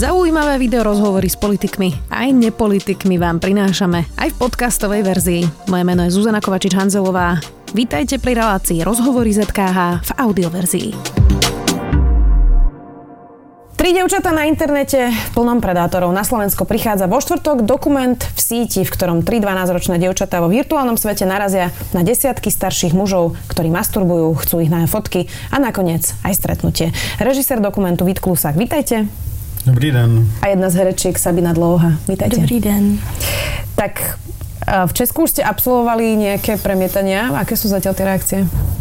Zaujímavé videorozhovory s politikmi aj nepolitikmi vám prinášame aj v podcastovej verzii. Moje meno je Zuzana Kovačič-Hanzelová. Vítajte pri relácii Rozhovory ZKH v audioverzii. 3 dievčatá na internete v plnom predátorov. Na Slovensko prichádza vo štvrtok dokument v síti, v ktorom 3 12-ročné dievčatá vo virtuálnom svete narazia na desiatky starších mužov, ktorí masturbujú, chcú ich na fotky a nakoniec aj stretnutie. Režisér dokumentu Vít Klusák, vítajte. Dobrý den. A jedna z herečiek Sabina Dlouhá, vítajte. Dobrý den. Tak v Česku už ste absolvovali nejaké premietania. Aké sú zatiaľ tie reakcie?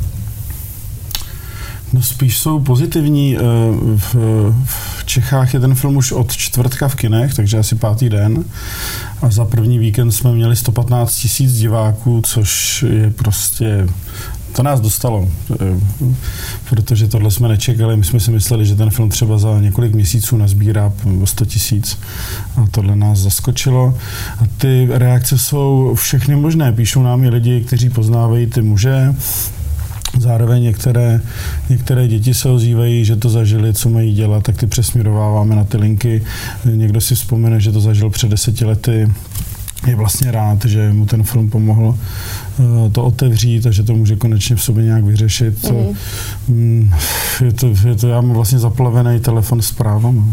No spíš jsou pozitivní. V Čechách je ten film už od čtvrtka v kinech, takže asi 5. den. A za první víkend jsme měli 115 000 diváků, což je prostě... To nás dostalo, protože tohle jsme nečekali. My jsme si mysleli, že ten film třeba za několik měsíců nazbírá 100 000 a tohle nás zaskočilo. A ty reakce jsou všechny možné. Píšou nám i lidi, kteří poznávají ty muže. Zároveň některé děti se ozývají, že to zažili, co mají dělat, tak ty přesměrováváme na ty linky. Někdo si vzpomene, že to zažil před 10 lety. Je vlastně rád, že mu ten film pomohl to otevřít a že to může konečně v sobě nějak vyřešit. Je to já mám vlastně zaplavený telefon s právama.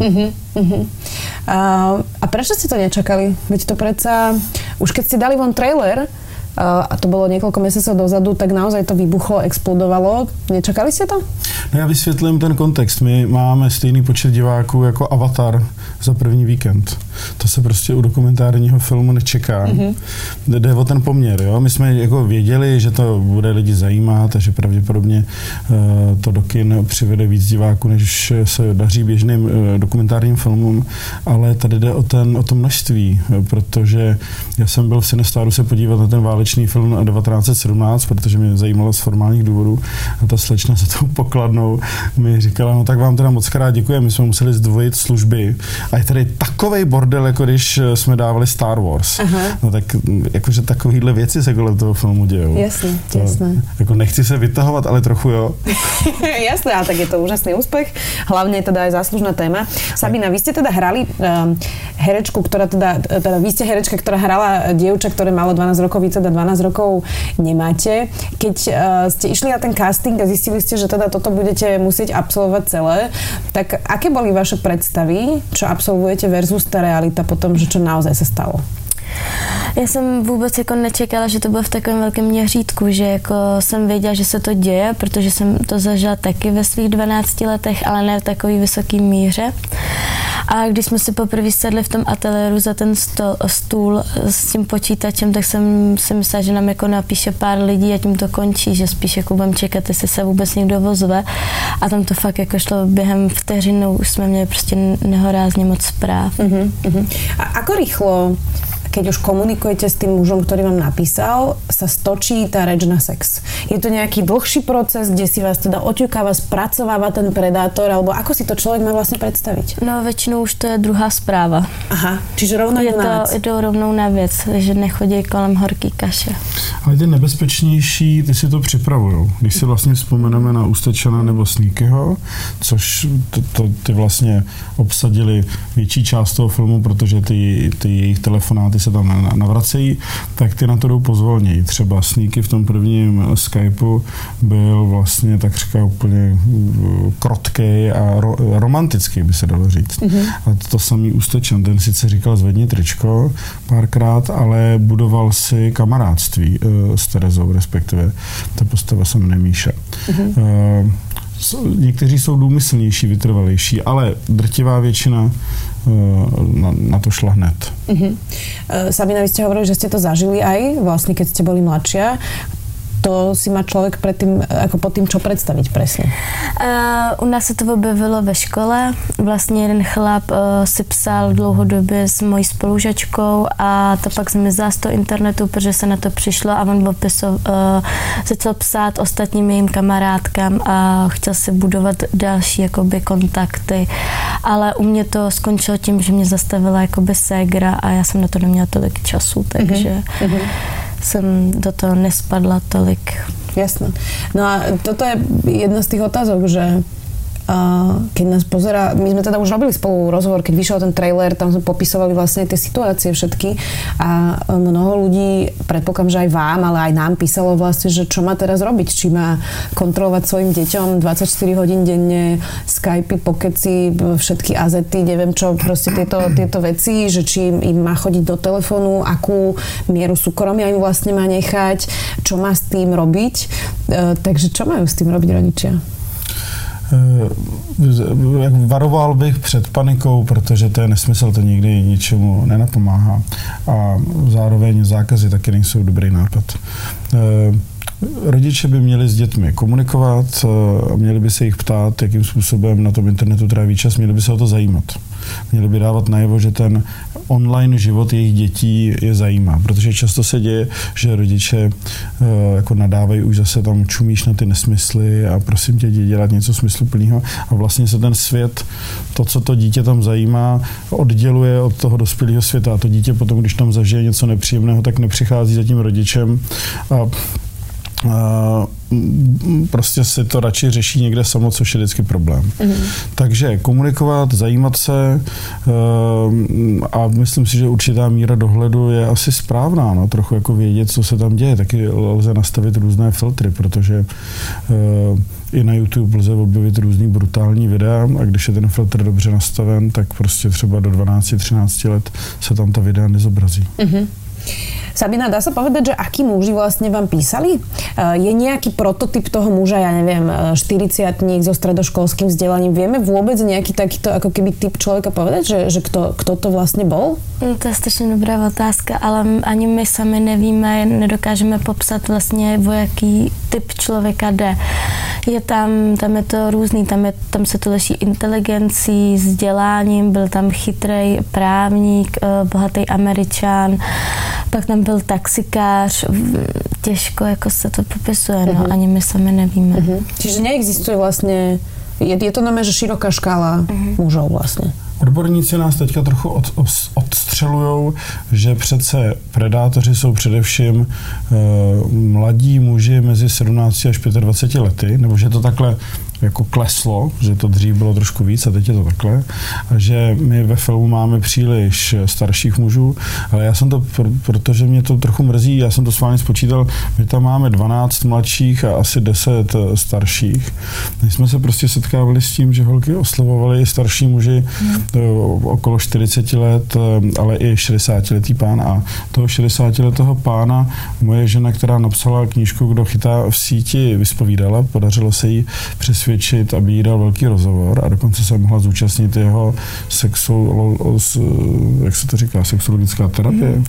A prečo ste to nečakali? Veď to predsa, už keď ste dali von trailer, a to bylo několik měsíců dozadu, tak naozaj to vybuchlo, explodovalo. Nečakali jste to? No já vysvětlím ten kontext. My máme stejný počet diváků jako Avatar za první víkend. To se prostě u dokumentárního filmu nečeká. Jde o ten poměr. Jo? My jsme jako věděli, že to bude lidi zajímat a že pravděpodobně to do kin přivede víc diváků, než se daří běžným dokumentárním filmům, ale tady jde o to množství, protože já jsem byl v Cinestaru se podívat na ten válečný film 1917, protože mě zajímalo z formálních důvodů a ta slečna za tou pokladnou mi říkala, no tak vám teda moc krát děkuji, my jsme museli zdvojit služby a je tady takovej bordel, jako když jsme dávali Star Wars. Aha. No tak jakože takovýhle věci se kolem toho filmu dějou. Jasně. Jako nechci se vytahovat, ale trochu jo. Jasné, a tak je to úžasný úspech. Hlavne teda aj záslužná téma. Sabina, vy ste teda hrali herečku, ktorá teda vy ste herečka, ktorá hrala dievča, ktoré malo 12 rokov, vy teda 12 rokov nemáte. Keď ste išli na ten casting a zistili ste, že teda toto budete musieť absolvovať celé, tak aké boli vaše predstavy, čo absolvujete versus tá realita potom, že čo naozaj sa stalo? Já jsem vůbec jako nečekala, že to bylo v takovém velkém měřítku, že jako jsem věděla, že se to děje, protože jsem to zažila taky ve svých 12 letech, ale ne v takový vysoký míře. A když jsme si poprvé sedli v tom ateliéru za ten stůl s tím počítačem, tak jsem si myslela, že nám jako napíše pár lidí a tím to končí, že spíš jako budeme čekat, jestli se vůbec někdo ozve. A tam to fakt jako šlo během vteřinu, už jsme měli prostě nehorázně moc zpráv. A ako rýchlo, keď už komunikujete s tým mužom, ktorý vám napísal, sa stočí tá reč na sex? Je to nejaký dlhší proces, kde si vás teda oťukáva, spracováva ten predátor, alebo ako si to človek má vlastne predstaviť? No většinou už to je druhá zpráva. Aha, čiže rovnou je to rovnou na věc, že nechodí kolem horký kaše. Ale ty nebezpečnější, ty si to připravujou. Když si vlastně vzpomeneme na Ústečana nebo Sneakyho, což ty vlastně obsadili větší část toho filmu, protože ty jejich telefonáty se tam navracejí, tak ty na to jdou pozvolněji. Třeba Sneaky v tom prvním Skypeu byl vlastně takřka úplně krotkej a romantický, by se dalo říct. A to samý Ústečan, ten sice říkal zvedni tričko párkrát, ale budoval si kamarádství s Terezou, respektive ta postava se jmenuje Míša. Někteří jsou důmyslnější, vytrvalejší, ale drtivá většina na to šla hned. Sabina, vy ste hovorili, že ste to zažili aj vlastne, keď ste boli mladšia. To si má člověk předtím, jako pod tím, čo představit presne? U nás se to objevilo ve škole. Vlastně jeden chlap si psal dlouhodobě s mojí spolužačkou a to pak zmizela z toho internetu, protože se na to přišlo a on začal psát ostatním jejím kamarádkám a chtěl si budovat další jakoby kontakty. Ale u mě to skončilo tím, že mě zastavila jakoby ségra a já jsem na to neměla tolik času, takže jsem do toho nespadla tolik. Jasné. No a toto je jedna z tých otázok, že keď nás pozerá, my sme teda už robili spolu rozhovor, keď vyšiel ten trailer, tam sme popisovali vlastne tie situácie všetky a mnoho ľudí, predpokladám, že aj vám, ale aj nám písalo vlastne, že čo má teraz robiť, či má kontrolovať svojim deťom 24 hodín denne, Skypey, pokeci, všetky azety, neviem čo, proste tieto veci, že či im má chodiť do telefónu, akú mieru súkromia im vlastne má nechať, čo má s tým robiť. Takže čo majú s tým robiť rodičia? Varoval bych před panikou, protože to je nesmysl, to nikdy ničemu nenapomáhá. A zároveň zákazy taky nejsou dobrý nápad. Rodiče by měli s dětmi komunikovat, měli by se jich ptát, jakým způsobem na tom internetu tráví čas, měli by se o to zajímat. Měli by dávat najevo, že ten online život jejich dětí je zajímá, protože často se děje, že rodiče jako nadávají, už zase tam čumíš na ty nesmysly a prosím tě, jdi dělat něco smysluplného a vlastně se ten svět, to, co to dítě tam zajímá, odděluje od toho dospělého světa a to dítě potom, když tam zažije něco nepříjemného, tak nepřichází za tím rodičem a prostě si to radši řeší někde samo, což je vždycky problém. Takže komunikovat, zajímat se a myslím si, že určitá míra dohledu je asi správná, no, trochu jako vědět, co se tam děje. Taky lze nastavit různé filtry, protože i na YouTube lze objevit různý brutální videa a když je ten filtr dobře nastaven, tak prostě třeba do 12-13 let se tam ta videa nezobrazí. Sabina, dá sa povedať, že akí muži vlastne vám písali? Je nejaký prototyp toho muža, ja neviem, 40-tník so stredoškolským vzdelaním? Vieme vôbec nejaký takýto ako keby typ človeka povedať, že kto to vlastne bol? To je strašně dobrá otázka, ale ani my sami nevíme, nedokážeme popsat vlastně, o jaký typ člověka jde. Je tam je to různý, tam se to liší inteligencí, vzděláním, byl tam chytrej právník, bohatý Američan, pak tam byl taxikář, těžko jako se to popisuje, no, ani my sami nevíme. Čiže neexistuje vlastně, je to znamená, že široká škála mužov vlastně. Odborníci nás teďka trochu odstřelujou, že přece predátoři jsou především mladí muži mezi 17 až 25 lety, nebo že to takhle jako kleslo, že to dřív bylo trošku víc a teď je to takhle, a že my ve filmu máme příliš starších mužů, ale já jsem to, protože mě to trochu mrzí, já jsem to s vámi spočítal, my tam máme 12 mladších a asi 10 starších. My jsme se prostě setkávali s tím, že holky oslovovali starší muži okolo 40 let, ale i 60-letý pán a toho 60-letého pána moje žena, která napsala knížku Kdo chytá v síti, vyspovídala, podařilo se jí přesvědčit, aby jí dal velký rozhovor a dokonce se mohla zúčastnit jeho jak se to říká, sexologická terapie.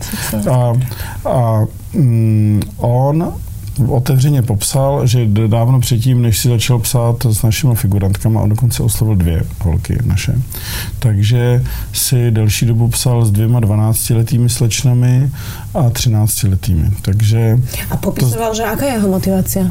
On otevřeně popsal, že dávno předtím, než si začal psát s našimi figurantkama, on dokonce oslovil 2 holky naše. Takže si delší dobu psal s 2 12letými slečnami a 13letými. Takže a popisoval, že aká je jeho motivácia?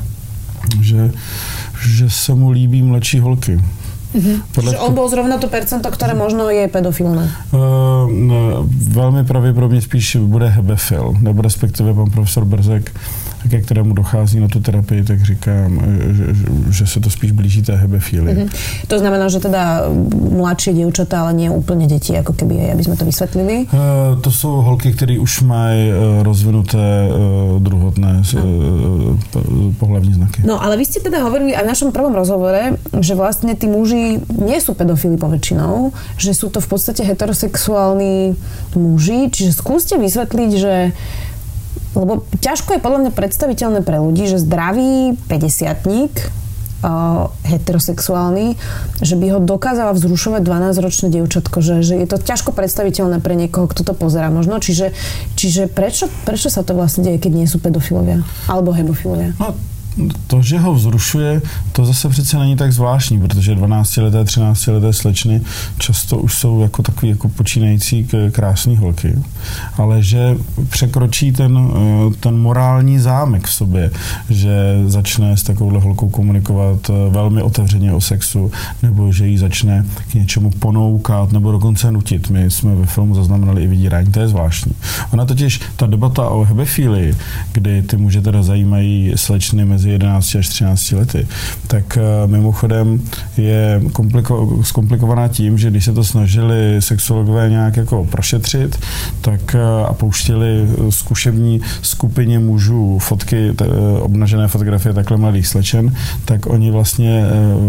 Že se mu líbí mladší holky. Že on bol zrovna to percento, ktoré možno je pedofilné. Velmi pravděpodobně spíš bude hebefil, nebo respektive pan profesor Brzek, ke kterému dochází na tu terapii, tak říkám, že se to spíš blíží té hebefílii. To znamená, že teda mladšie dievčatá, ale nie úplne deti, ako keby, aby sme to vysvetlili? To jsou holky, které už mají rozvinuté druhotné pohlavní znaky. No, ale vy ste teda hovorili aj v našom prvom rozhovore, že vlastne tí muži nie sú pedofili poväčšinou, že sú to v podstate heterosexuálni muži, čiže skúste vysvetliť, že lebo ťažko je podľa mňa predstaviteľné pre ľudí, že zdravý 50-tník heterosexuálny, že by ho dokázala vzrušovať 12-ročné dievčatko, že je to ťažko predstaviteľné pre niekoho, kto to pozerá možno. Čiže prečo sa to vlastne deje, keď nie sú pedofilovia alebo hemofilovia? No, to, že ho vzrušuje, to zase přece není tak zvláštní, protože 12leté, 13leté slečny často už jsou jako takový jako počínající krásný holky, ale že překročí ten morální zámek v sobě, že začne s takovouhle holkou komunikovat velmi otevřeně o sexu, nebo že jí začne k něčemu ponoukat, nebo dokonce nutit. My jsme ve filmu zaznamenali i vydírání, to je zvláštní. Ona totiž, ta debata o hebefílii, kdy ty muže teda zajímají slečny mezi mezi 11 až 13 lety, tak mimochodem je zkomplikovaná tím, že když se to snažili sexologové nějak jako prošetřit, tak a pouštěli zkušební skupině mužů fotky, obnažené fotografie takhle mladých slečen, tak oni vlastně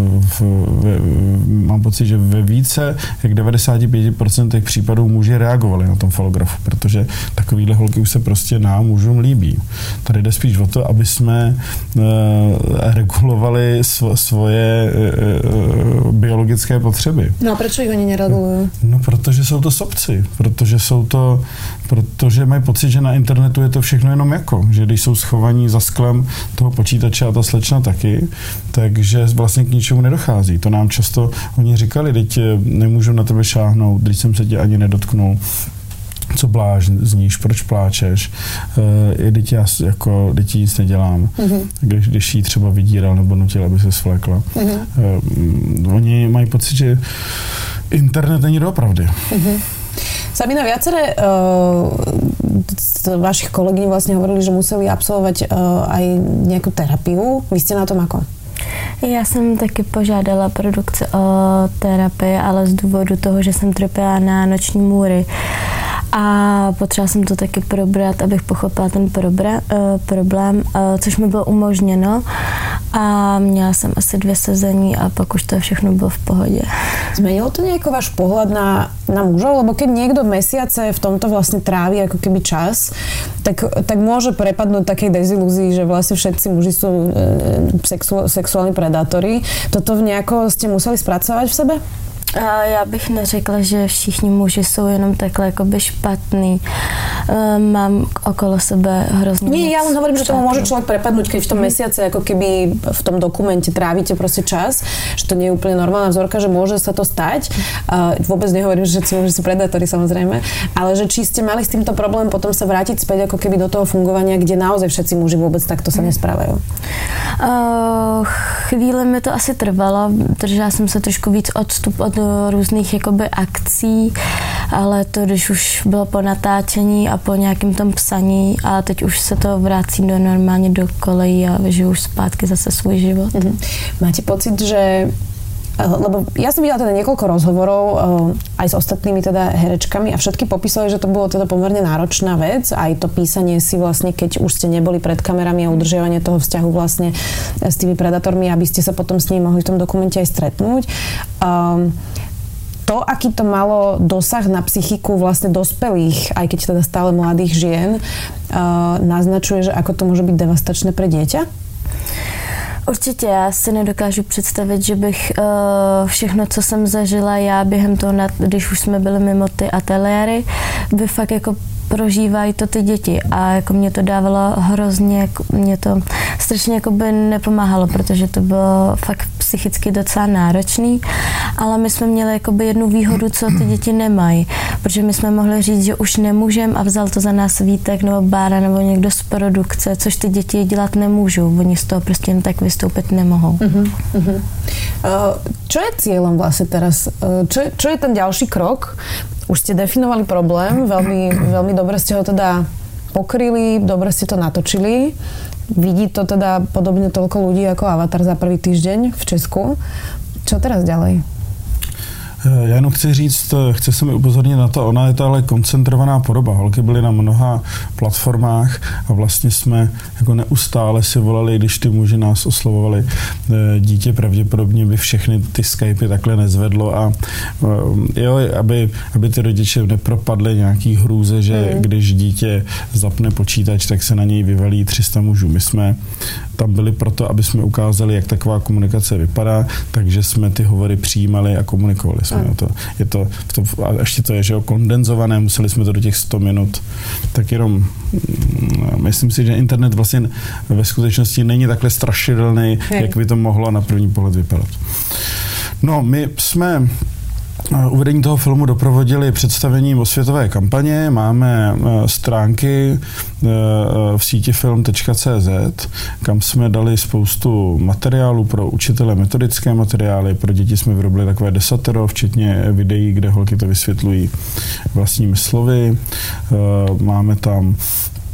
mám pocit, že ve více jak 95% případů muži reagovali na tom falografu, protože takovýhle holky už se prostě nám mužům líbí. Tady jde spíš o to, aby jsme regulovali svoje biologické potřeby. No a proč jich oni neregulují? No, protože jsou to sobci, protože mají pocit, že na internetu je to všechno jenom jako, že když jsou schovaní za sklem toho počítače a ta slečna taky, takže vlastně k ničemu nedochází. To nám často oni říkali, teď nemůžu na tebe šáhnout, když jsem se tě ani nedotknul, co blázníš, proč pláčeš, teď nic nedělám, když jí třeba vydíral nebo nutil, aby se svlékla. Oni mají pocit, že internet není doopravdy. Sabina, viaceré z vašich kolegyň vlastne hovorili, že museli absolvovať aj nejakú terapiu. Vy ste na tom ako? Já jsem taky požádala produkci o terapii, ale z důvodu toho, že jsem trpěla na noční můry. A potřeba jsem to taky probrat, abych pochopila ten problém, což mi bylo umožněno. A měla jsem asi 2 sezení a pak už to všechno bylo v pohodě. Zmenilo to nejako váš pohľad na mužov? Lebo keď niekto mesiace v tomto vlastne trávi ako keby čas, tak môže prepadnúť takej dezilúzii, že vlastne všetci muži sú sexuální predátori. Toto nejako ste museli spracovať v sebe? Já bych neřekla, že všichni muži jsou jenom takhle jakoby špatný. Mám okolo sebe hrozně Nie, ja len hovorím, že tomu môže človek prepadnúť, keď v tom mesiace ako keby v tom dokumente trávite proste čas, že to nie je úplne normálna vzorka, že môže sa to stať. Vôbec nehovorím, že všetci muži sú predátori, samozrejme, ale že či ste mali s týmto problém potom sa vrátiť späť ako keby do toho fungovania, kde naozaj všetci muži vôbec takto sa nesprávajú. Chvíli mi to asi trvalo, držela jsem se trošku víc odstup od různých jakoby akcí, ale to, když už bylo po natáčení a po nějakém tom psaní a teď už se to vrací normálně do kolejí a žiju už zpátky zase svůj život. Máte pocit, že lebo ja som videla teda niekoľko rozhovorov aj s ostatnými teda herečkami a všetky popísali, že to bolo teda pomerne náročná vec, aj to písanie si vlastne, keď už ste neboli pred kamerami a udržiavanie toho vzťahu vlastne s tými predátormi, aby ste sa potom s nimi mohli v tom dokumente aj stretnúť. To, aký to malo dosah na psychiku vlastne dospelých, aj keď teda stále mladých žien, naznačuje, že ako to môže byť devastačné pre dieťa? Určitě, já si nedokážu představit, že bych všechno, co jsem zažila já během toho, když už jsme byli mimo ty ateliéry, by fakt jako prožívají to ty děti a jako mě to dávalo hrozně, mě to strašně jako by nepomáhalo, protože to bylo fakt psychicky docela náročný, ale my jsme měli jakoby jednu výhodu, co ty děti nemají, protože my jsme mohli říct, že už nemůžem a vzal to za nás Vítek nebo Bára nebo někdo z produkce, což ty děti dělat nemůžou, oni z toho prostě jen tak vystoupit nemohou. Čo je cieľom vlastne teraz? Čo je ten ďalší krok? Už ste definovali problém, veľmi dobre ste ho teda pokryli, dobre ste to natočili. Vidí to teda podobne toľko ľudí ako Avatar za prvý týždeň v Česku. Čo teraz ďalej? Já jenom chci se mi upozornit na to, ona je to ale koncentrovaná podoba. Holky byly na mnoha platformách a vlastně jsme jako neustále si volali, když ty muži nás oslovovali. Dítě pravděpodobně by všechny ty Skypy takhle nezvedlo a jo, aby ty rodiče nepropadly nějaký hrůze, že když dítě zapne počítač, tak se na něj vyvalí 300 mužů. My jsme tam byli proto, aby jsme ukázali, jak taková komunikace vypadá, takže jsme ty hovory přijímali a komunikovali jsme. A ještě to je, že kondenzované, museli jsme to do těch 100 minut. Tak jenom myslím si, že internet vlastně ve skutečnosti není takhle strašidelný, jak by to mohlo na první pohled vypadat. No, my jsme uvedení toho filmu doprovodili představením osvětové kampaně. Máme stránky v síti film.cz, kam jsme dali spoustu materiálů pro učitele, metodické materiály. Pro děti jsme vyrobili takové desatero, včetně videí, kde holky to vysvětlují vlastními slovy. Máme tam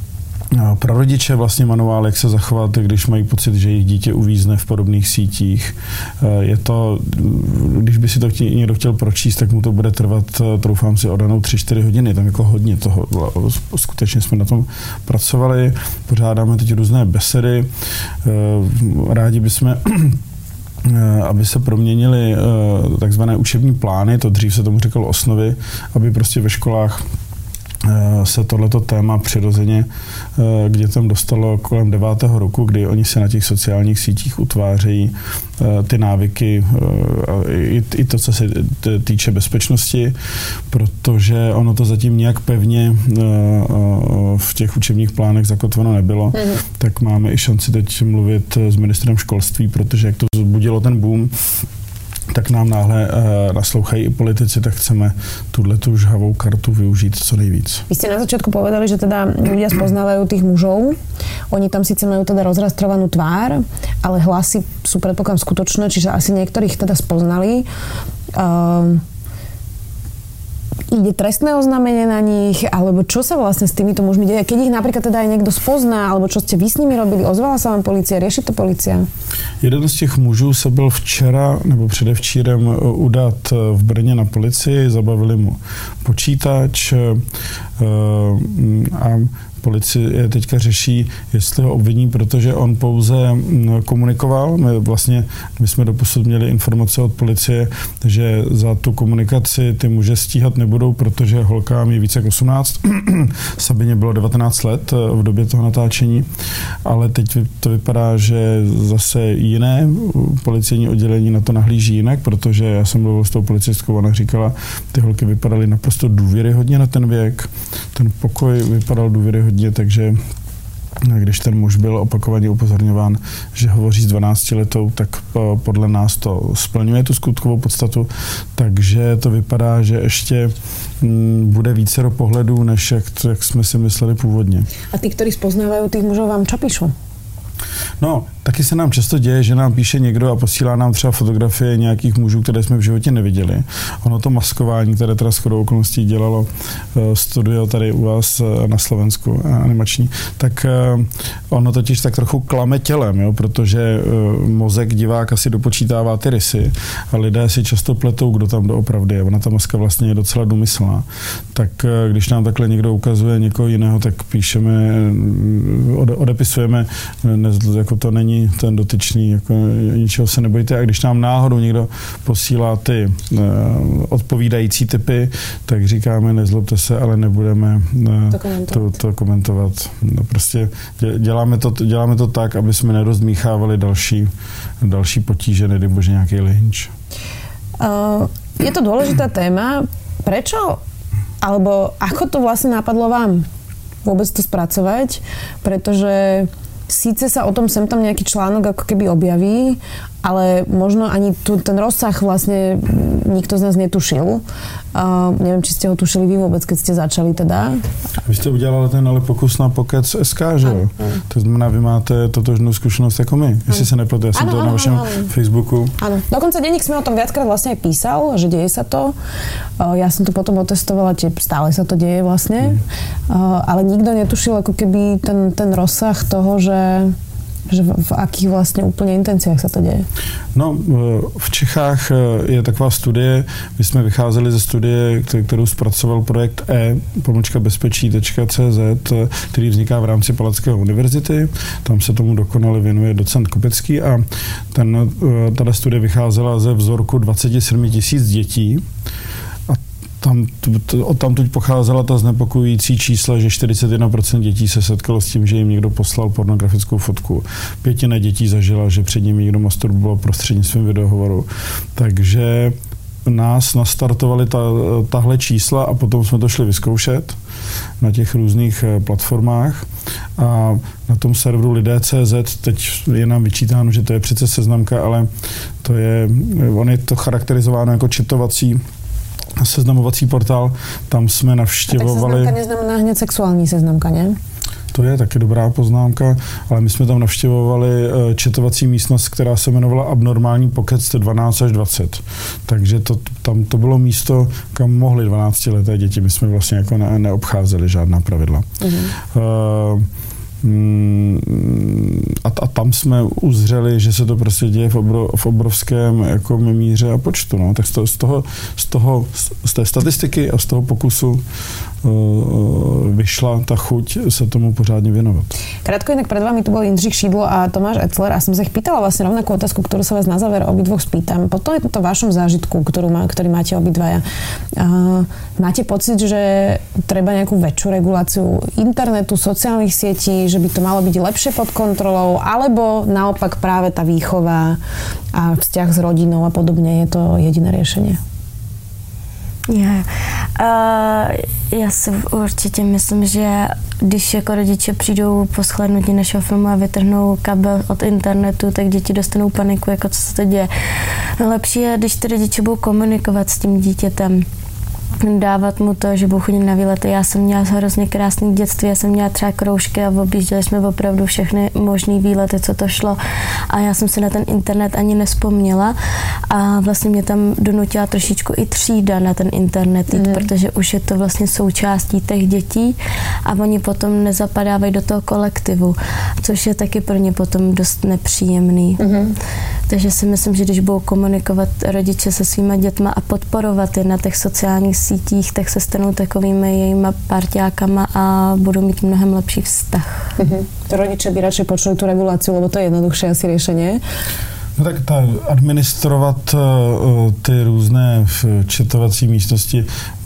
prarodiče vlastně manuál, jak se zachovat, když mají pocit, že jejich dítě uvízne v podobných sítích. Je to, když by si to někdo chtěl pročíst, tak mu to bude trvat, troufám si, odanou 3-4 hodiny. Tam jako hodně toho. Skutečně jsme na tom pracovali, pořádáme teď různé besedy. Rádi bychom aby se proměnily takzvané učební plány, to dřív se tomu říkalo osnovy, aby prostě ve školách se tohleto téma přirozeně k dětem dostalo kolem 9. roku, kdy oni se na těch sociálních sítích utvářejí ty návyky, i to, co se týče bezpečnosti, protože ono to zatím nějak pevně v těch učebních plánech zakotveno nebylo, tak máme i šanci teď mluvit s ministrem školství, protože jak to vzbudilo ten boom, tak nám náhle naslouchají i politici, tak chceme tuhletu žhavou kartu využít co nejvíc. Vy ste na začiatku povedali, že teda ľudia spoznávajú tých mužov. Oni tam síce majú teda rozrastrovanú tvár, ale hlasy sú predpokladám skutočné, čiže asi niektorých teda spoznali. Ide trestné oznámenie na nich, alebo čo sa vlastne s týmito mužmi deje? Keď ich napríklad teda aj niekto spozná, alebo čo ste vy s nimi robili, ozvala sa vám polícia, rieši to polícia? Jeden z těch mužů se byl včera nebo předevčírem udat v Brně na policii, zabavili mu počítač a policie teďka řeší, jestli ho obviní, protože on pouze komunikoval. My jsme doposud měli informace od policie, že za tu komunikaci ty muže stíhat nebudou, protože holkám je více jak 18. Sabině bylo 19 let v době toho natáčení, ale teď to vypadá, že zase jiné policejní oddělení na to nahlíží jinak, protože já jsem mluvil s tou policistkou, ona říkala, ty holky vypadaly naprosto důvěryhodně na ten věk, ten pokoj vypadal důvěryhodně, takže když ten muž byl opakovaně upozorňován, že hovoří s 12letou, tak podle nás to splňuje tu skutkovou podstatu, takže to vypadá, že ještě bude vícero pohledů, než jak jsme si mysleli původně. A tí, ktorí spoznávajú tých mužov, vám čo píšu? No, taky se nám často děje, že nám píše někdo a posílá nám třeba fotografie nějakých mužů, které jsme v životě neviděli. Ono to maskování, které teda shodou okolností dělalo studio tady u vás na Slovensku, animační, tak ono totiž tak trochu klame tělem, jo, protože mozek diváka si dopočítává ty rysy a lidé si často pletou, kdo tam doopravdy je. Ona ta maska vlastně je docela důmyslná. Tak když nám takhle někdo ukazuje někoho jiného, tak píšeme, odepisujeme, jako to není ten dotyčný, jako ničeho se nebojte. A když nám náhodou někdo posílá ty odpovídající typy, tak říkáme, nezlobte se, ale nebudeme to komentovat. No, prostě děláme to tak, aby jsme nerozdmíchávali další potíže, nedej bože nějaký lynč. Je to dôležitá téma. Prečo? Alebo ako to vlastne napadlo vám vôbec to spracovať? Pretože síce sa o tom sem tam nejaký článok ako keby objaví, ale možno ani ten rozsah vlastne nikto z nás netušil. Neviem, či ste ho tušili vy vôbec, keď ste začali teda. Vy ste udělali ten ale pokus na Pocket SK, že jo? To znamená, vy máte totožnú skúsenosť ako my. Jestli sa nepletu, ja som to na vašom Facebooku. Áno, dokonca denník sme o tom viackrát vlastne aj písal, že deje sa to. Ja som to potom otestovala, stále sa to deje vlastne. Ale nikto netušil ako keby ten rozsah toho, že v akých vlastně úplně intenciách se to děje? No, v Čechách je taková studie, my jsme vycházeli ze studie, kterou zpracoval projekt e-bezpečí.cz, který vzniká v rámci Palackého univerzity. Tam se tomu dokonale věnuje docent Kopecký a tato studie vycházela ze vzorku 27 000 dětí. Odtamtud pocházela ta znepokojující čísla, že 41% dětí se setkalo s tím, že jim někdo poslal pornografickou fotku. 1/5 dětí zažila, že před nimi někdo masturboval prostřednictvím videohovoru. Takže nás nastartovali tahle čísla a potom jsme to šli vyzkoušet na těch různých platformách a na tom serveru lidé.cz teď je nám vyčítáno, že to je přece seznamka, ale on je to charakterizováno jako četovací seznamovací portál, tam jsme navštěvovali... Tak seznamka neznamená hned sexuální seznamka, ne? To je taky dobrá poznámka, ale my jsme tam navštěvovali četovací místnost, která se jmenovala Abnormální pokec 12 až 20. Takže to bylo místo, kam mohly 12leté děti. My jsme vlastně jako neobcházeli žádná pravidla. A tam jsme uzřeli, že se to prostě děje v obrovském jako míře a počtu. No. Tak z té statistiky a z toho pokusu vyšla ta chuť sa tomu pořádne venovať. Krátko inak pred vami tu bol Jindřich Šídlo a Tomáš Etzler a som sa ich pýtala vlastne rovnakú otázku, ktorú sa vás na záver obidvoch spýtam. Po tomto vašom zážitku, ktorý máte obidvaja, máte pocit, že treba nejakú väčšiu reguláciu internetu, sociálnych sietí, že by to malo byť lepšie pod kontrolou, alebo naopak práve tá výchova a vzťah s rodinou a podobne je to jediné riešenie? Já si určitě myslím, že když jako rodiče přijdou po shlédnutí našeho filmu a vytrhnou kabel od internetu, tak děti dostanou paniku, jako co se to děje. Lepší je, když ty rodiče budou komunikovat s tím dítětem, dávat mu to, že budu chodit na výlety. Já jsem měla hrozně krásné dětství, já jsem měla třeba kroužky a objížděli jsme opravdu všechny možný výlety, co to šlo. A já jsem si na ten internet ani nevzpomněla a vlastně mě tam donutila trošičku i třída na ten internet jít, protože už je to vlastně součástí těch dětí a oni potom nezapadávají do toho kolektivu, což je taky pro ně potom dost nepříjemný. Takže si myslím, že když budou komunikovat rodiče se svýma dětma a podporovat je na těch sociálních sítích, tak se stanou takovými jejíma parťákama a budou mít mnohem lepší vztah. Rodiče by radšej počuli tú reguláciu, lebo to je jednoduchšie asi riešenie. No tak administrovat ty různé četovací místnosti,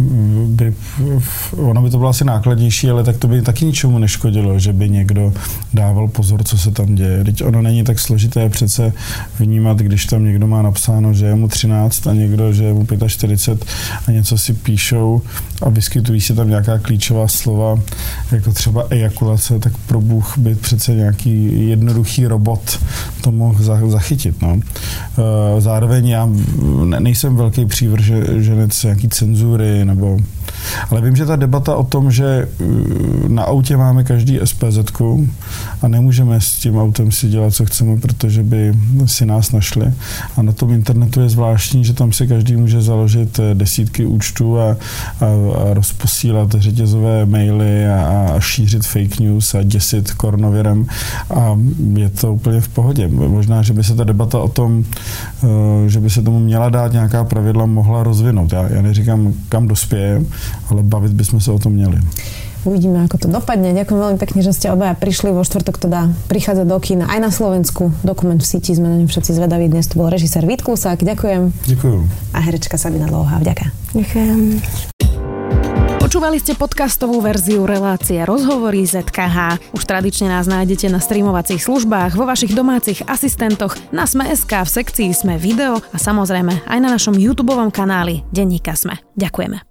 ono by to bylo asi nákladnější, ale tak to by taky ničemu neškodilo, že by někdo dával pozor, co se tam děje. Teď ono není tak složité přece vnímat, když tam někdo má napsáno, že je mu 13 a někdo, že je mu 45 a něco si píšou a vyskytují se tam nějaká klíčová slova, jako třeba ejakulace, tak pro Bůh by přece nějaký jednoduchý robot to mohl zachytit. No. Zároveň já nejsem velký přívrženec nějaký cenzury, ale vím, že ta debata o tom, že na autě máme každý SPZ-ku a nemůžeme s tím autem si dělat, co chceme, protože by si nás našli. A na tom internetu je zvláštní, že tam si každý může založit desítky účtů a rozposílat řetězové maily a šířit fake news a děsit koronavirem a je to úplně v pohodě. Možná, že by se ta debata o tom, že by se tomu měla dát nějaká pravidla, mohla rozvinout. Já neříkám, kam dospěje, ale bavit bychom se o tom měli. Uvidíme, ako to dopadne. Ďakujem veľmi pekne, že ste obaja prišli. Vo štvrtok teda prichádza do kína aj na Slovensku. Dokument v síti, sme na ňom všetci zvedaví. Dnes to bol režisér Vít Klusák. Ďakujem. Ďakujem. A herečka Sabina Dlouhá. Vďaka. Ďakujem. Počúvali ste podcastovú verziu relácie Rozhovory ZKH. Už tradične nás nájdete na streamovacích službách, vo vašich domácich asistentoch, na Sme.sk, v sekcii Sme video a samozrejme aj na našom YouTubeovom kanáli Denníka Sme. Ďakujeme.